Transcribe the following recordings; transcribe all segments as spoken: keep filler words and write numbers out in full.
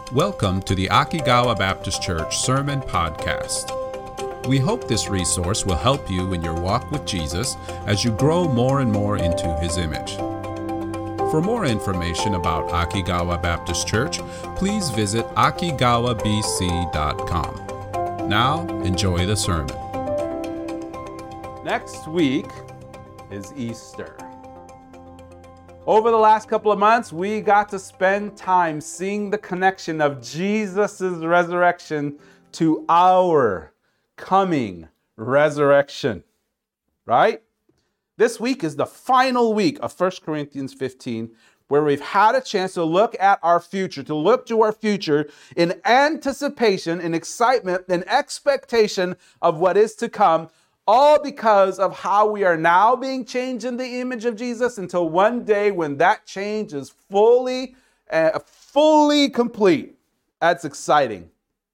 Welcome to the Akigawa Baptist Church Sermon Podcast. We hope this resource will help you in your walk with Jesus as you grow more and more into His image. For more information about Akigawa Baptist Church, please visit akigawa b c dot com. Now, enjoy the sermon. Next week is Easter. Over the last couple of months, we got to spend time seeing the connection of Jesus' resurrection to our coming resurrection, right? This week is the final week of First Corinthians fifteen, where we've had a chance to look at our future, to look to our future in anticipation, in excitement, in expectation of what is to come, all because of how we are now being changed in the image of Jesus until one day when that change is fully, uh, fully complete. That's exciting.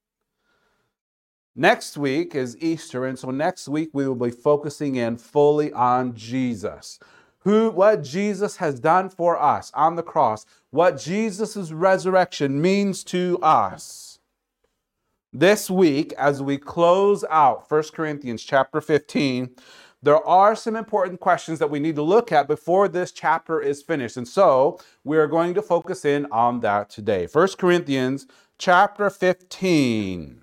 Next week is Easter, and so next week we will be focusing in fully on Jesus. Who, what Jesus has done for us on the cross, what Jesus' resurrection means to us. This week, as we close out First Corinthians chapter fifteen, there are some important questions that we need to look at before this chapter is finished. And so we're going to focus in on that today. First Corinthians chapter fifteen.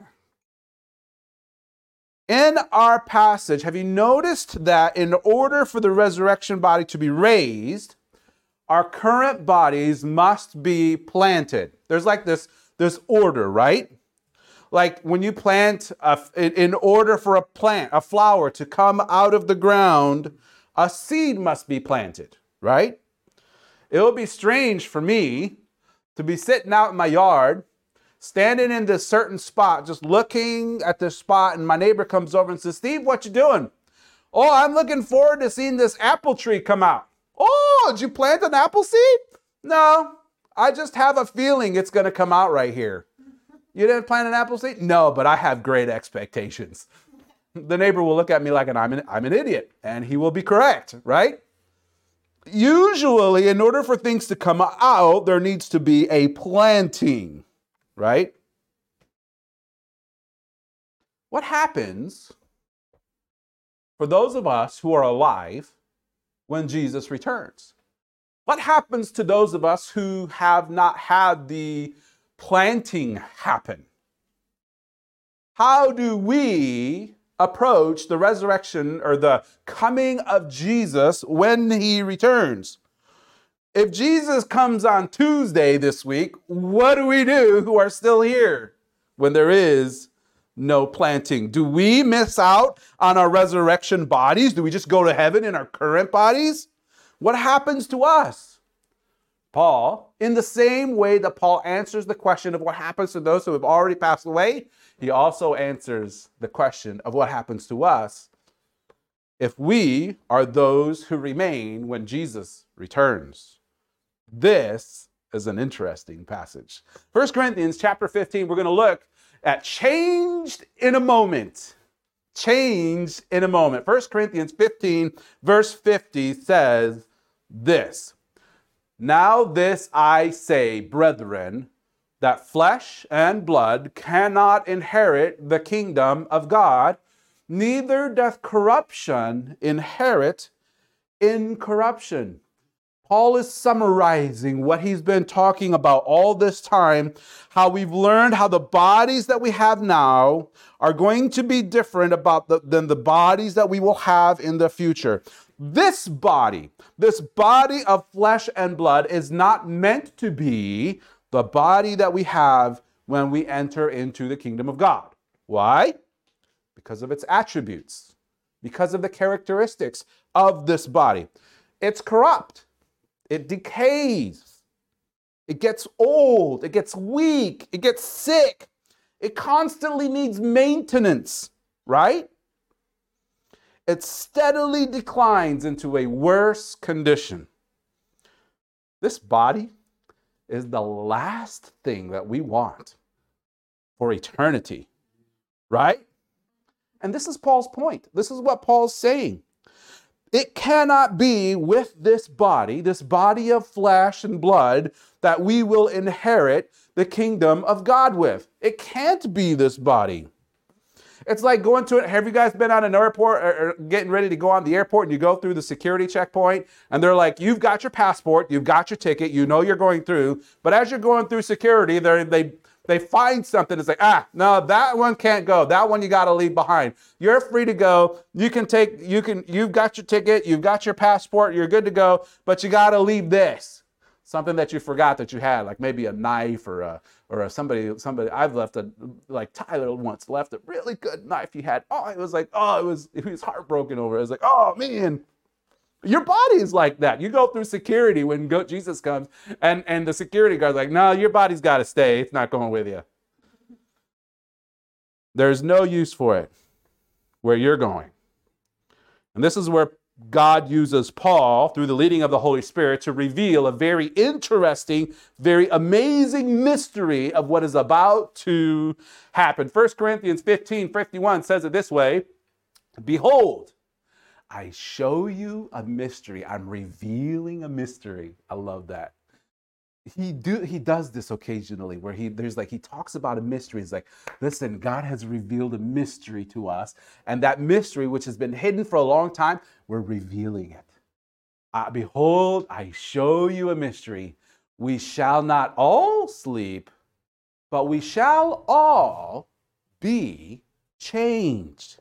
In our passage, have you noticed that in order for the resurrection body to be raised, our current bodies must be planted? There's like this, this order, right? Like when you plant, a, in order for a plant, a flower to come out of the ground, a seed must be planted, right? It would be strange for me to be sitting out in my yard, standing in this certain spot, just looking at this spot, and my neighbor comes over and says, "Steve, what you doing?" "Oh, I'm looking forward to seeing this apple tree come out." "Oh, did you plant an apple seed?" "No, I just have a feeling it's going to come out right here." "You didn't plant an apple seed?" "No, but I have great expectations." The neighbor will look at me like an, I'm, an, I'm an idiot, and he will be correct, right? Usually, in order for things to come out, there needs to be a planting, right? What happens for those of us who are alive when Jesus returns? What happens to those of us who have not had the planting happen? How do we approach the resurrection or the coming of Jesus when he returns? If Jesus comes on Tuesday this week, what do we do who are still here when there is no planting? Do we miss out on our resurrection bodies? Do we just go to heaven in our current bodies? What happens to us? Paul, in the same way that Paul answers the question of what happens to those who have already passed away, he also answers the question of what happens to us if we are those who remain when Jesus returns. This is an interesting passage. First Corinthians chapter fifteen, we're going to look at changed in a moment. Changed in a moment. First Corinthians fifteen, verse fifty says this: "Now this I say, brethren, that flesh and blood cannot inherit the kingdom of God, neither doth corruption inherit incorruption." Paul is summarizing what he's been talking about all this time, how we've learned how the bodies that we have now are going to be different about the, than the bodies that we will have in the future. This body, this body of flesh and blood is not meant to be the body that we have when we enter into the kingdom of God. Why? Because of its attributes, because of the characteristics of this body. It's corrupt. It decays. It gets old. It gets weak. It gets sick. It constantly needs maintenance, right? It steadily declines into a worse condition. This body is the last thing that we want for eternity, right? And this is Paul's point. This is what Paul's saying. It cannot be with this body, this body of flesh and blood, that we will inherit the kingdom of God with. It can't be this body. It's like going to it. Have you guys been on an airport or, or getting ready to go on the airport and you go through the security checkpoint and they're like, you've got your passport, you've got your ticket, you know you're going through. But as you're going through security, they they they find something. It's like, ah, no, that one can't go. That one you got to leave behind. You're free to go. You can take, you can, you've got your ticket, you've got your passport, you're good to go, but you got to leave this. Something that you forgot that you had, like maybe a knife or a, or a somebody, somebody, I've left a, like Tyler once left a really good knife he had. Oh, it was like, oh, it was, he was heartbroken over it. It was like, oh man, your body is like that. You go through security when go, Jesus comes and, and the security guard's like, no, your body's got to stay. It's not going with you. There's no use for it where you're going. And this is where God uses Paul through the leading of the Holy Spirit to reveal a very interesting, very amazing mystery of what is about to happen. First Corinthians fifteen fifty-one says it this way, behold, I show you a mystery. I'm revealing a mystery. I love that. He do he does this occasionally where he there's like he talks about a mystery. He's like, listen, God has revealed a mystery to us, and that mystery, which has been hidden for a long time, we're revealing it. Uh, behold, I show you a mystery. We shall not all sleep, but we shall all be changed.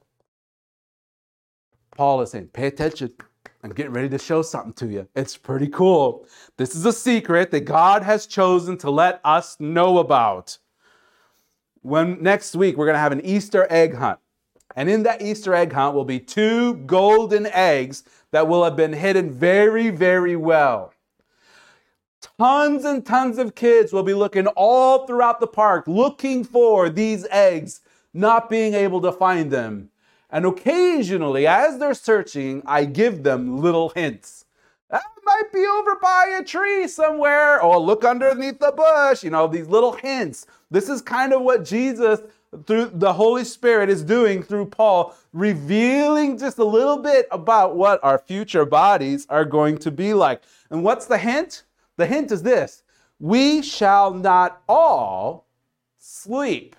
Paul is saying, pay attention. I'm getting ready to show something to you. It's pretty cool. This is a secret that God has chosen to let us know about. When next week, we're going to have an Easter egg hunt. And in that Easter egg hunt will be two golden eggs that will have been hidden very, very well. Tons and tons of kids will be looking all throughout the park, looking for these eggs, not being able to find them. And occasionally, as they're searching, I give them little hints. That might be over by a tree somewhere, or look underneath the bush, you know, these little hints. This is kind of what Jesus, through the Holy Spirit, is doing through Paul, revealing just a little bit about what our future bodies are going to be like. And what's the hint? The hint is this: we shall not all sleep.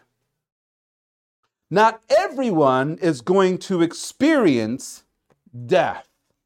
Not everyone is going to experience death,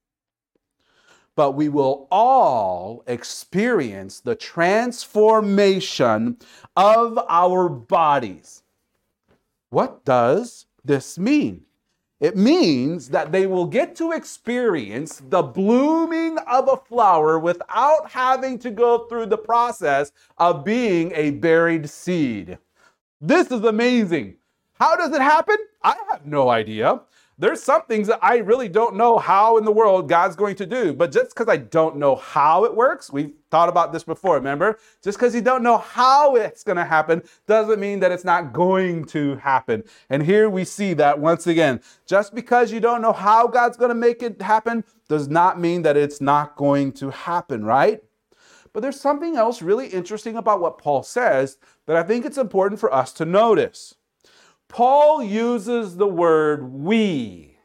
but we will all experience the transformation of our bodies. What does this mean? It means that they will get to experience the blooming of a flower without having to go through the process of being a buried seed. This is amazing. How does it happen? I have no idea. There's some things that I really don't know how in the world God's going to do. But just because I don't know how it works, we've thought about this before, remember? Just because you don't know how it's going to happen doesn't mean that it's not going to happen. And here we see that once again. Just because you don't know how God's going to make it happen does not mean that it's not going to happen, right? But there's something else really interesting about what Paul says that I think it's important for us to notice. Paul uses the word we.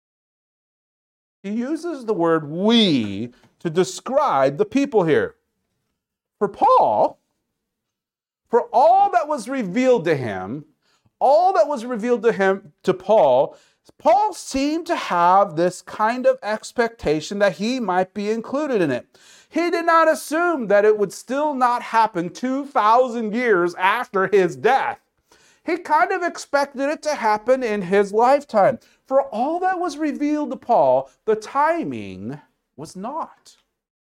He uses the word we to describe the people here. For Paul, for all that was revealed to him, all that was revealed to him, to Paul, Paul seemed to have this kind of expectation that he might be included in it. He did not assume that it would still not happen two thousand years after his death. He kind of expected it to happen in his lifetime. For all that was revealed to Paul, the timing was not.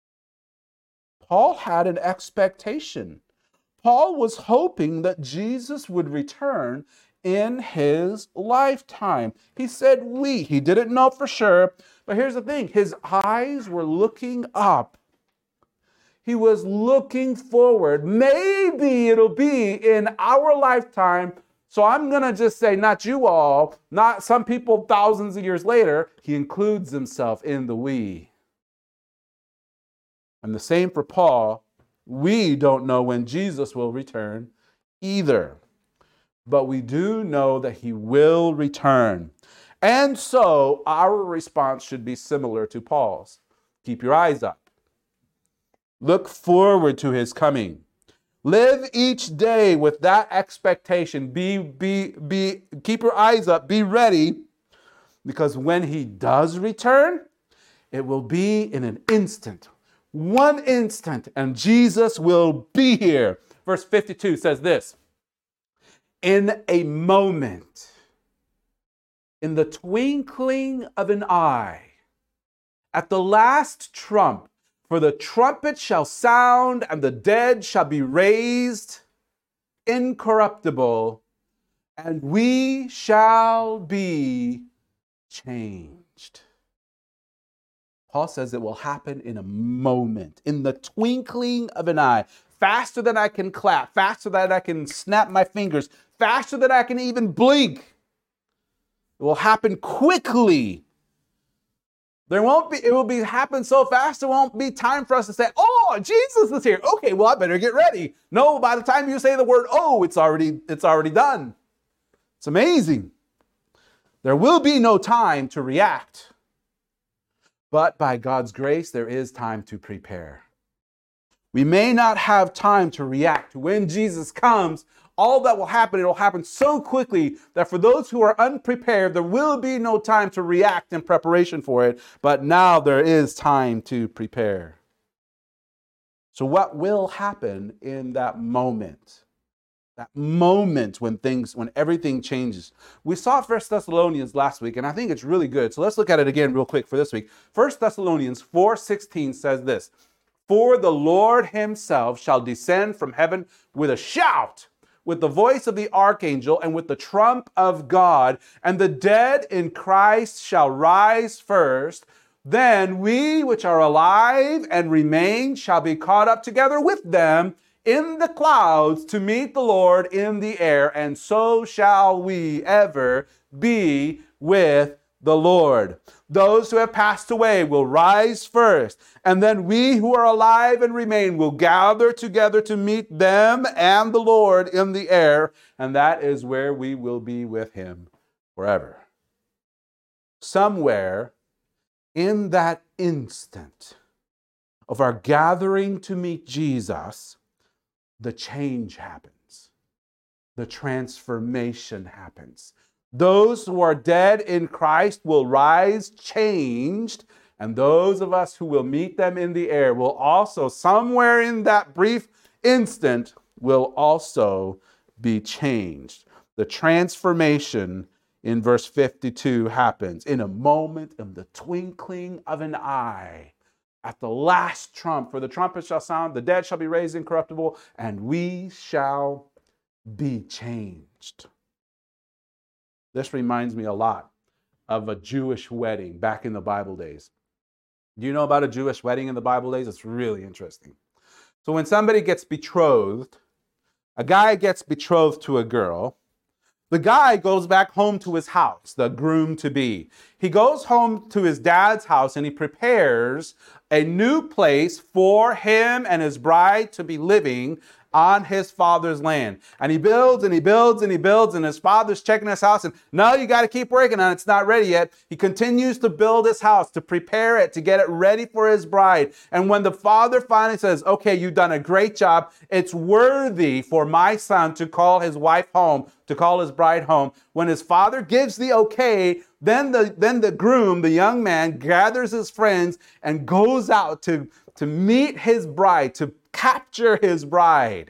Paul had an expectation. Paul was hoping that Jesus would return in his lifetime. He said we. He didn't know for sure. But here's the thing. His eyes were looking up. He was looking forward. Maybe it'll be in our lifetime. So I'm going to just say, not you all, not some people thousands of years later. He includes himself in the we. And the same for Paul. We don't know when Jesus will return either. But we do know that he will return. And so our response should be similar to Paul's. Keep your eyes up. Look forward to his coming. Live each day with that expectation. Be, be, be, keep your eyes up. Be ready, because when he does return, it will be in an instant. One instant, and Jesus will be here. Verse fifty-two says this: in a moment, in the twinkling of an eye, at the last trump, for the trumpet shall sound, and the dead shall be raised incorruptible, and we shall be changed. Paul says it will happen in a moment, in the twinkling of an eye, faster than I can clap, faster than I can snap my fingers, faster than I can even blink. It will happen quickly. There won't be, it will be happen so fast, there won't be time for us to say, oh, Jesus is here. Okay, well, I better get ready. No, by the time you say the word, oh, it's already, it's already done. It's amazing. There will be no time to react. But by God's grace, there is time to prepare. We may not have time to react. When Jesus comes, all that will happen, it will happen so quickly that for those who are unprepared, there will be no time to react in preparation for it. But now there is time to prepare. So what will happen in that moment? That moment when things, when everything changes. We saw First Thessalonians last week, and I think it's really good. So let's look at it again real quick for this week. First Thessalonians four sixteen says this: for the Lord himself shall descend from heaven with a shout, with the voice of the archangel, and with the trump of God, and the dead in Christ shall rise first. Then we which are alive and remain shall be caught up together with them in the clouds to meet the Lord in the air, and so shall we ever be with the Lord. Those who have passed away will rise first, and then we who are alive and remain will gather together to meet them and the Lord in the air, and that is where we will be with him forever. Somewhere in that instant of our gathering to meet Jesus, the change happens. The transformation happens. Those who are dead in Christ will rise changed, and those of us who will meet them in the air will also, somewhere in that brief instant, will also be changed. The transformation in verse fifty-two happens in a moment, in the twinkling of an eye. At the last trump, for the trumpet shall sound, the dead shall be raised incorruptible, and we shall be changed. This reminds me a lot of a Jewish wedding back in the Bible days. Do you know about a Jewish wedding in the Bible days? It's really interesting. So when somebody gets betrothed, a guy gets betrothed to a girl, the guy goes back home to his house, the groom-to-be. He goes home to his dad's house and he prepares a new place for him and his bride to be living on his father's land. And he builds and he builds and he builds, and his father's checking his house, and no, you got to keep working on it. It's not ready yet. He continues to build his house, to prepare it, to get it ready for his bride. And when the father finally says, okay, you've done a great job, it's worthy for my son to call his wife home, to call his bride home. When his father gives the okay, then the, then the groom, the young man, gathers his friends and goes out to, to meet his bride, to capture his bride.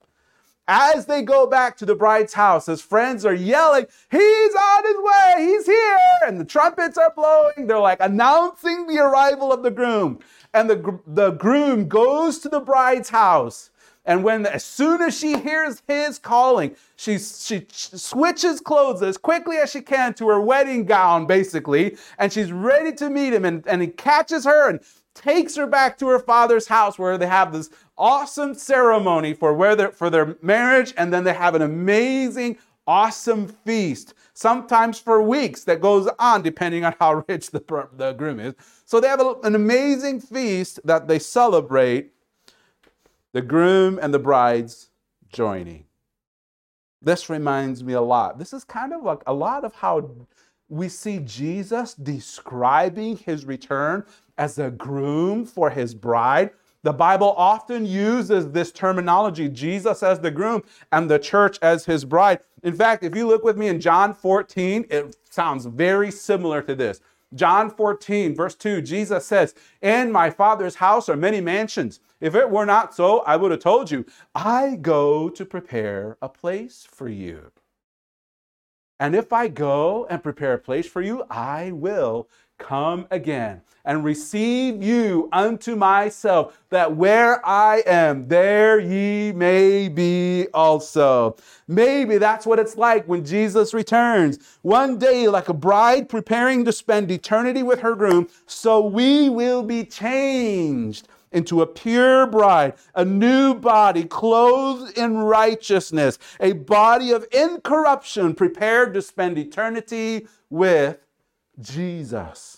As they go back to the bride's house, his friends are yelling, he's on his way, he's here, and the trumpets are blowing. They're like announcing the arrival of the groom. And the, the groom goes to the bride's house. And when, as soon as she hears his calling, she, she switches clothes as quickly as she can to her wedding gown, basically, and she's ready to meet him. And, and he catches her and takes her back to her father's house, where they have this awesome ceremony for where for their marriage, and then they have an amazing, awesome feast, sometimes for weeks, that goes on depending on how rich the, the groom is. So they have a, an amazing feast that they celebrate, the groom and the bride's joining. This reminds me a lot. This is kind of like a lot of how we see Jesus describing his return as a groom for his bride. The Bible often uses this terminology, Jesus as the groom and the church as his bride. In fact, if you look with me in John fourteen, it sounds very similar to this. John fourteen, verse two, Jesus says, "In my Father's house are many mansions. If it were not so, I would have told you, I go to prepare a place for you. And if I go and prepare a place for you, I will come again and receive you unto myself, that where I am, there ye may be also." Maybe that's what it's like when Jesus returns. One day, like a bride preparing to spend eternity with her groom, so we will be changed into a pure bride, a new body clothed in righteousness, a body of incorruption prepared to spend eternity with Jesus.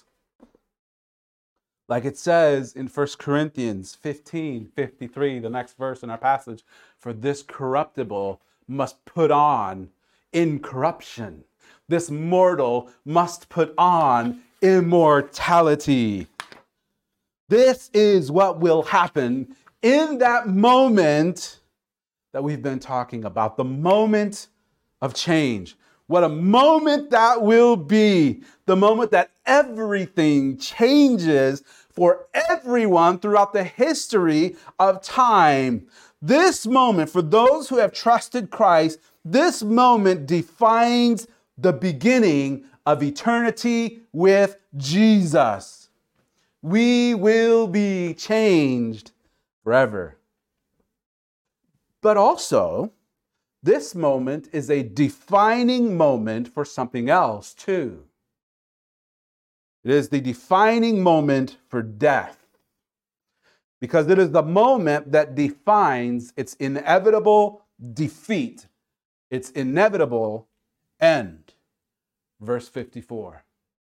Like it says in First Corinthians fifteen fifty-three, the next verse in our passage, "For this corruptible must put on incorruption. This mortal must put on immortality." This is what will happen in that moment that we've been talking about, the moment of change. What a moment that will be, the moment that everything changes for everyone throughout the history of time. This moment, for those who have trusted Christ, this moment defines the beginning of eternity with Jesus. We will be changed forever. But also, this moment is a defining moment for something else too. It is the defining moment for death, because it is the moment that defines its inevitable defeat, its inevitable end. Verse fifty-four.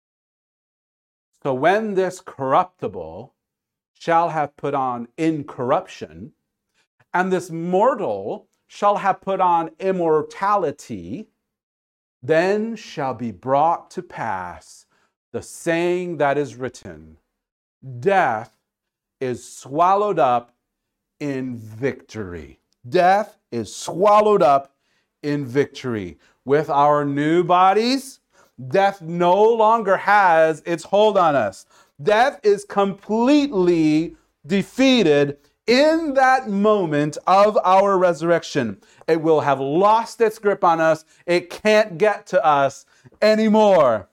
"So when this corruptible shall have put on incorruption, and this mortal shall have put on immortality, then shall be brought to pass the saying that is written, death is swallowed up in victory." Death is swallowed up in victory. With our new bodies, death no longer has its hold on us. Death is completely defeated in that moment of our resurrection. It will have lost its grip on us. It can't get to us anymore.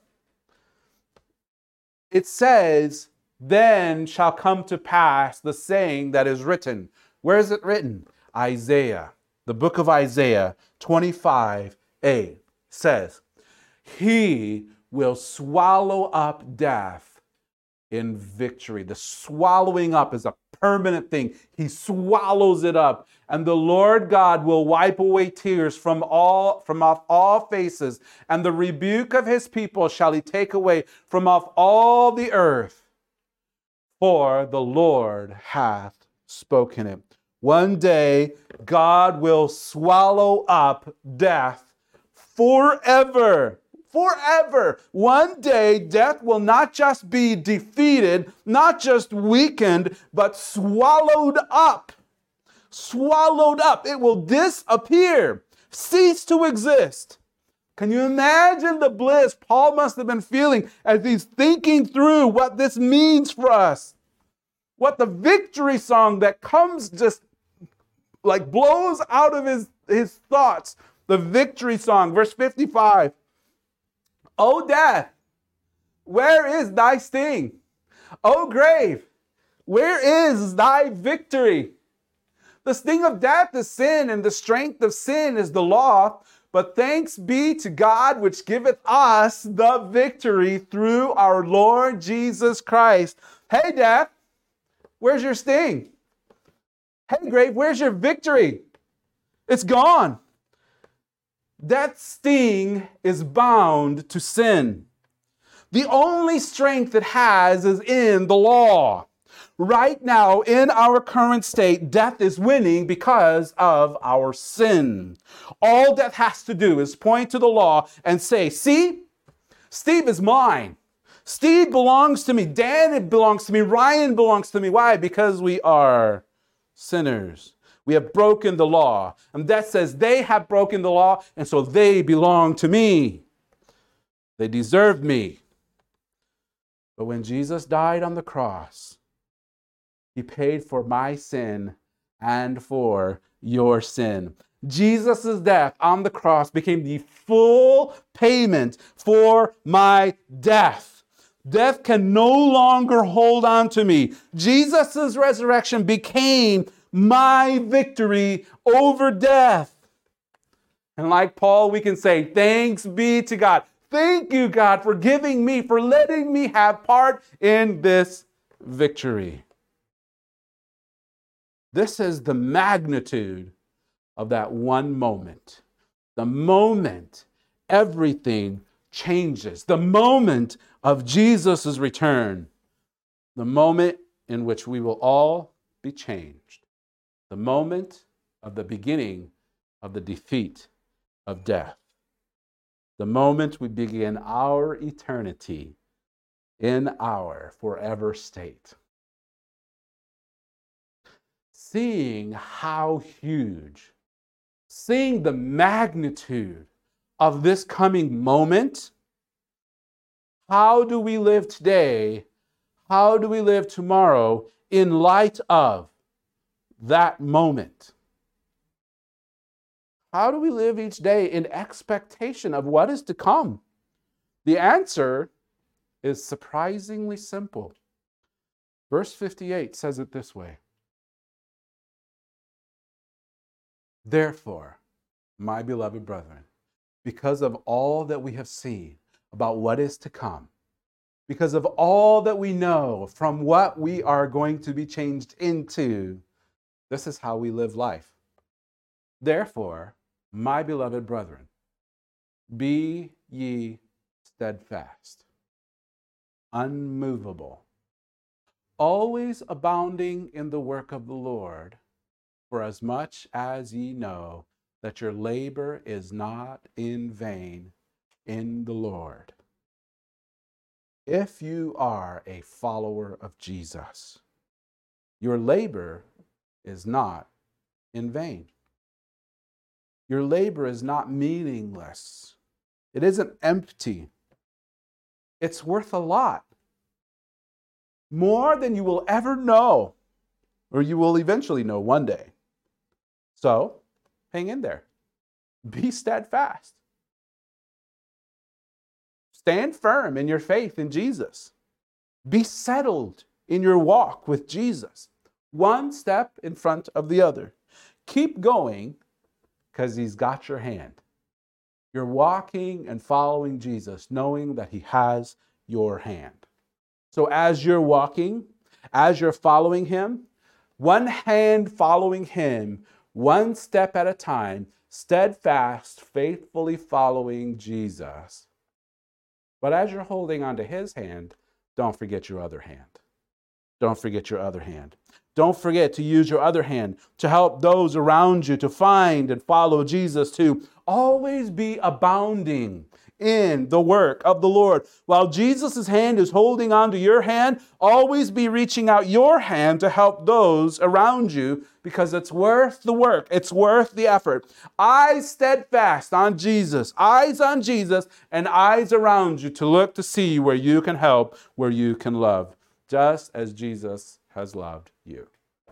It says, "Then shall come to pass the saying that is written." Where is it written? Isaiah. The book of Isaiah twenty-five a says, "He will swallow up death in victory." The swallowing up is a permanent thing. He swallows it up. "And the Lord God will wipe away tears from all from off all faces, and the rebuke of his people shall he take away from off all the earth. For the Lord hath spoken it." One day, God will swallow up death forever. Forever. One day, death will not just be defeated, not just weakened, but swallowed up. Swallowed up. It will disappear, cease to exist. Can you imagine the bliss Paul must have been feeling as he's thinking through what this means for us? What the victory song that comes just like blows out of his, his thoughts. The victory song, verse fifty-five. "O death, where is thy sting? O grave, where is thy victory? The sting of death is sin, and the strength of sin is the law. But thanks be to God, which giveth us the victory through our Lord Jesus Christ." Hey, death, where's your sting? Hey, grave, where's your victory? It's gone. Death's sting is bound to sin. The only strength it has is in the law. Right now, in our current state, death is winning because of our sin. All death has to do is point to the law and say, "See, Steve is mine. Steve belongs to me. Dan belongs to me. Ryan belongs to me. Why? Because we are sinners. We have broken the law. And that says they have broken the law, and so they belong to me. They deserve me. But when Jesus died on the cross, he paid for my sin and for your sin. Jesus' death on the cross became the full payment for my death. Death can no longer hold on to me. Jesus' resurrection became my victory over death. And like Paul, we can say, thanks be to God. Thank you, God, for giving me, for letting me have part in this victory. This is the magnitude of that one moment. The moment everything changes. The moment of Jesus' return. The moment in which we will all be changed. The moment of the beginning of the defeat of death. The moment we begin our eternity in our forever state. Seeing how huge, seeing the magnitude of this coming moment, how do we live today? How do we live tomorrow in light of that moment? How do we live each day in expectation of what is to come? The answer is surprisingly simple. Verse fifty-eight says it this way. Therefore, my beloved brethren, because of all that we have seen about what is to come, because of all that we know from what we are going to be changed into, this is how we live life. Therefore, my beloved brethren, be ye steadfast, unmovable, always abounding in the work of the Lord, for as much as ye know that your labor is not in vain in the Lord. If you are a follower of Jesus, your labor is not in vain. Your labor is not meaningless. It isn't empty. It's worth a lot. More than you will ever know, or you will eventually know one day. So, hang in there. Be steadfast. Stand firm in your faith in Jesus. Be settled in your walk with Jesus. One step in front of the other. Keep going because he's got your hand. You're walking and following Jesus, knowing that he has your hand. So as you're walking, as you're following him, one hand following him, one step at a time, steadfast, faithfully following Jesus. But as you're holding onto his hand, don't forget your other hand. Don't forget your other hand. Don't forget to use your other hand to help those around you to find and follow Jesus too. Always be abounding in the work of the Lord. While Jesus' hand is holding on to your hand, always be reaching out your hand to help those around you because it's worth the work. It's worth the effort. Eyes steadfast on Jesus, eyes on Jesus, and eyes around you to look to see where you can help, where you can love, just as Jesus has loved you.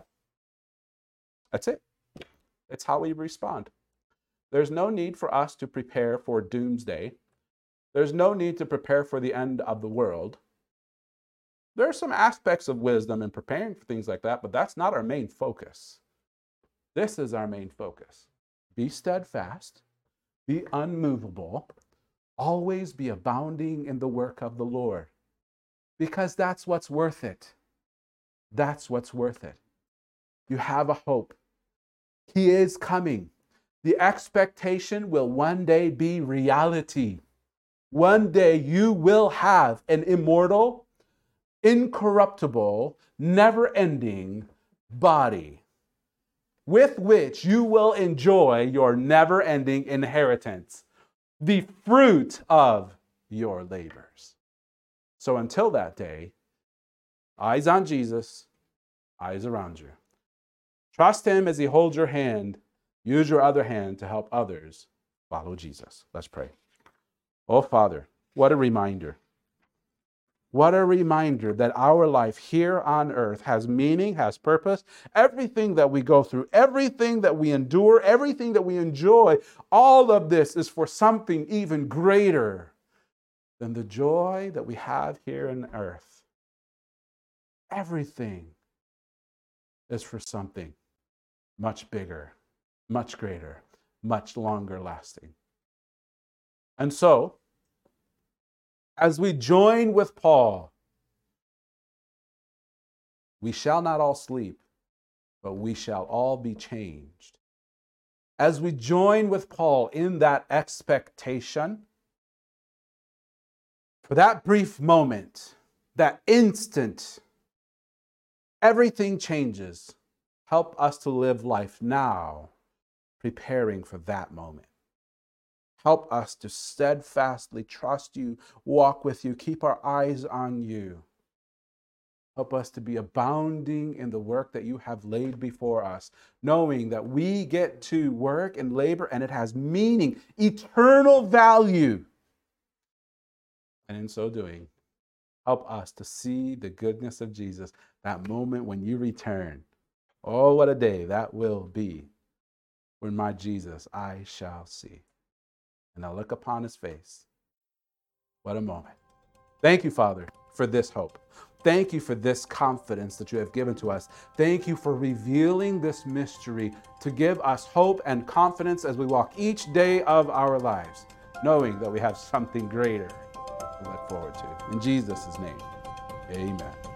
That's it. It's how we respond. There's no need for us to prepare for doomsday. There's no need to prepare for the end of the world. There are some aspects of wisdom in preparing for things like that, but that's not our main focus. This is our main focus. Be steadfast, be unmovable, always be abounding in the work of the Lord, because that's what's worth it. That's what's worth it. You have a hope. He is coming. The expectation will one day be reality. One day you will have an immortal, incorruptible, never-ending body with which you will enjoy your never-ending inheritance, the fruit of your labors. So until that day, eyes on Jesus, eyes around you. Trust him as he holds your hand. Use your other hand to help others follow Jesus. Let's pray. Oh, Father, what a reminder. What a reminder that our life here on earth has meaning, has purpose. Everything that we go through, everything that we endure, everything that we enjoy, all of this is for something even greater than the joy that we have here on earth. Everything is for something much bigger, much greater, much longer lasting. And so, as we join with Paul, we shall not all sleep, but we shall all be changed. As we join with Paul in that expectation, for that brief moment, that instant, everything changes. Help us to live life now, preparing for that moment. Help us to steadfastly trust you, walk with you, keep our eyes on you. Help us to be abounding in the work that you have laid before us, knowing that we get to work and labor and it has meaning, eternal value. And in so doing, help us to see the goodness of Jesus, that moment when you return. Oh, what a day that will be when my Jesus I shall see. And I'll look upon his face. What a moment. Thank you, Father, for this hope. Thank you for this confidence that you have given to us. Thank you for revealing this mystery to give us hope and confidence as we walk each day of our lives, knowing that we have something greater to look forward to. In Jesus' name, amen.